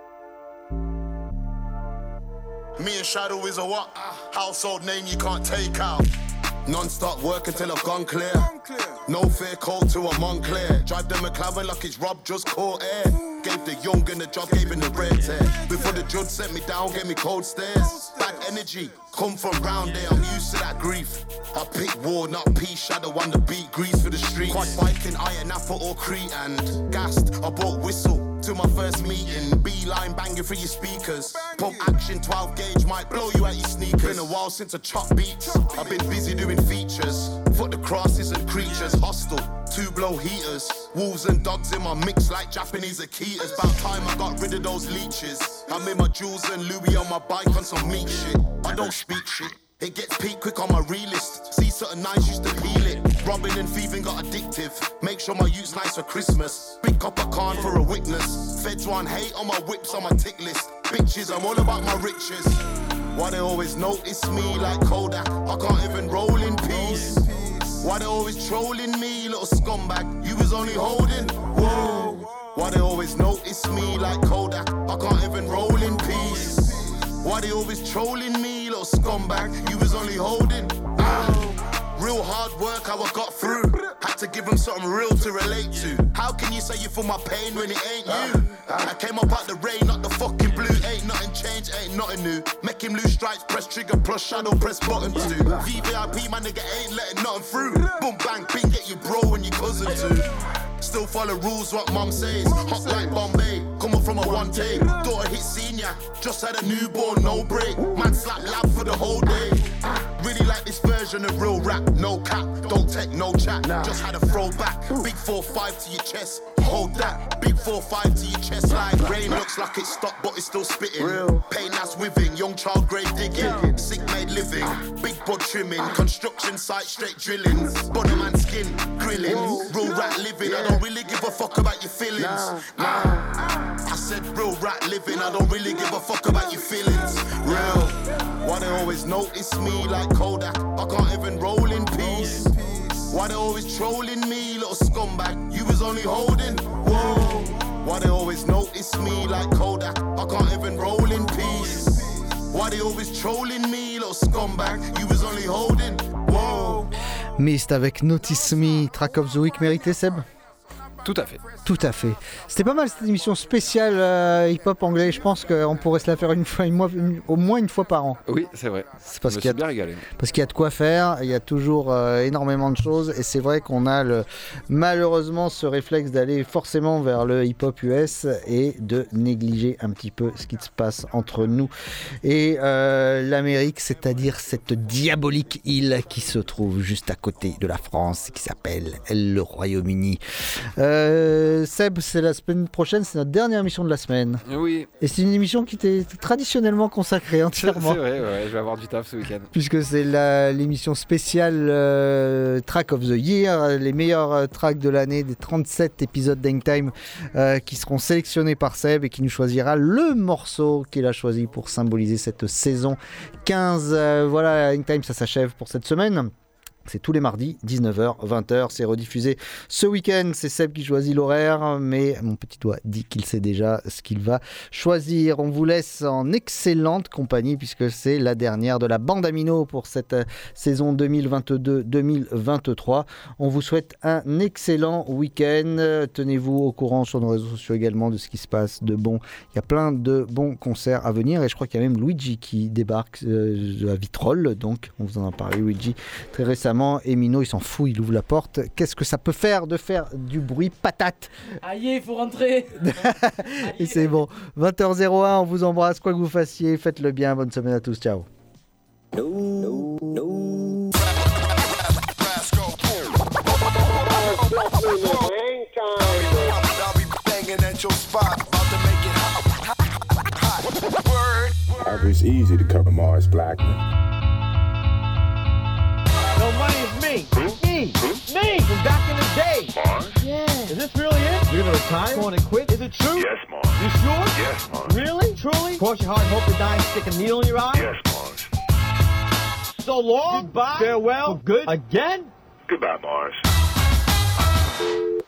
Me and Shadow is a what? Household name you can't take out. Non-stop work until I've gone clear. No fear, cold to a Montclair. Drive them a McLaren like it's Rob just caught air. Gave the young and the job, gave him the red tear. Before the judge sent me down, gave me cold stares. Bad energy, come from round there, I'm used to that grief. I pick war, not peace, shadow on the beat, grease for the streets. Quad biking, iron apple or Crete and gassed, I bought whistle. To my first meeting, beeline banging through your speakers. Pump action, twelve gauge might blow you out your sneakers. Been a while since I chop beats. I've been busy doing features. Foot the crosses and creatures, hostile. Two blow heaters, wolves and dogs in my mix like Japanese Akitas. About time I got rid of those leeches. I'm in my jewels and Louis on my bike on some meat shit. I don't speak shit. It gets peak quick on my relist. See certain nights used to peel it. Robbing and thieving got addictive. Make sure my youth's nice for Christmas. Big copper can for a witness. Feds want hate on my whips on my tick list. Bitches, I'm all about my riches. Why they always notice me like Kodak? I can't even roll in peace. Why they always trolling me, little scumbag? You was only holding. Whoa. Why they always notice me like Kodak? I can't even roll in peace. Why they always trolling me, little scumbag? You was only holding. Ah. Real hard work, how I got through. Had to give them something real to relate to. How can you say you feel my pain when it ain't you? I came up out the rain, not the fucking blue. Ain't nothing changed, ain't nothing new. Make him lose stripes, press trigger, plus shadow, press buttons too. V V I P, my nigga ain't letting nothing through. Boom, bang, ping, get your bro and your cousin too. Still follow rules, what mum says. Hot like Bombay, come up from a one take. Daughter hit senior, just had a newborn, no break. Man slap lab for the whole day. Really like this version of real rap, no cap. Don't take no chat, just had a throwback. Big four five to your chest, hold that. Big four five to your chest like rain. Looks like it stopped but it's still spitting. Pain that's withing, young child grave digging. Sick made living, big bud trimming. Construction site straight drilling. Body man skin, grilling. Real rat living, I don't really give a fuck about your feelings. Nah. I said real rat living, I don't really give a fuck about your feelings. Real. Why they always notice me like Kodak? I can't even roll in peace. Why they always trolling me, little scumbag? You was only holding. Whoa. Why they always notice me like Kodak? I can't even roll in peace. Why they always trolling me, little scumbag? You was only holding. Whoa. Mist avec Notice Me, track of the week mérité, Seb? Tout à fait. Tout à fait. C'était pas mal cette émission spéciale euh, hip-hop anglais. Je pense qu'on pourrait se la faire une fois, une mois, une, au moins une fois par an. Oui, c'est vrai. C'est parce Je me qu'il y a, suis bien régalé. Parce qu'il y a de quoi faire. Il y a toujours euh, énormément de choses. Et c'est vrai qu'on a le, malheureusement ce réflexe d'aller forcément vers le hip-hop U S et de négliger un petit peu ce qui se passe entre nous et euh, l'Amérique, c'est-à-dire cette diabolique île qui se trouve juste à côté de la France, qui s'appelle le Royaume-Uni. Euh, Euh, Seb, c'est la semaine prochaine, c'est notre dernière émission de la semaine. Oui. Et c'est une émission qui t'est traditionnellement consacrée entièrement. C'est vrai, ouais, je vais avoir du taf ce week-end. Puisque c'est la, l'émission spéciale euh, Track of the Year, les meilleurs euh, tracks de l'année, des trente-sept épisodes d'Hangtime euh, qui seront sélectionnés par Seb et qui nous choisira le morceau qu'il a choisi pour symboliser cette saison quinze. Euh, voilà, Hangtime, ça s'achève pour cette semaine. C'est tous les mardis, dix-neuf heures, vingt heures, c'est rediffusé ce week-end, c'est Seb qui choisit l'horaire, mais mon petit doigt dit qu'il sait déjà ce qu'il va choisir. On vous laisse en excellente compagnie puisque c'est la dernière de la bande Amino pour cette saison deux mille vingt-deux deux mille vingt-trois. On vous souhaite un excellent week-end, tenez-vous au courant sur nos réseaux sociaux également de ce qui se passe de bon. Il y a plein de bons concerts à venir et je crois qu'il y a même Luigi qui débarque euh, à Vitrolles, donc on vous en a parlé Luigi très récemment. Et Mino il s'en fout, il ouvre la porte. Qu'est-ce que ça peut faire de faire du bruit patate? Aïe, il faut rentrer. Et c'est bon, vingt heures zéro un, on vous embrasse, quoi que vous fassiez, faites-le bien, bonne semaine à tous, ciao. No, no, no. It's easy to cover Mars Blackman. No, money is me. Me. Me from back in the day. Mars? Yeah. Is this really it? You're gonna retire? Going to quit? Is it true? Yes, Mars. You sure? Yes, Mars. Really? Truly? Cross your heart and hope to die and stick a needle in your eye? Yes, Mars. So long. Goodbye. Farewell. For good. Again? Goodbye, Mars.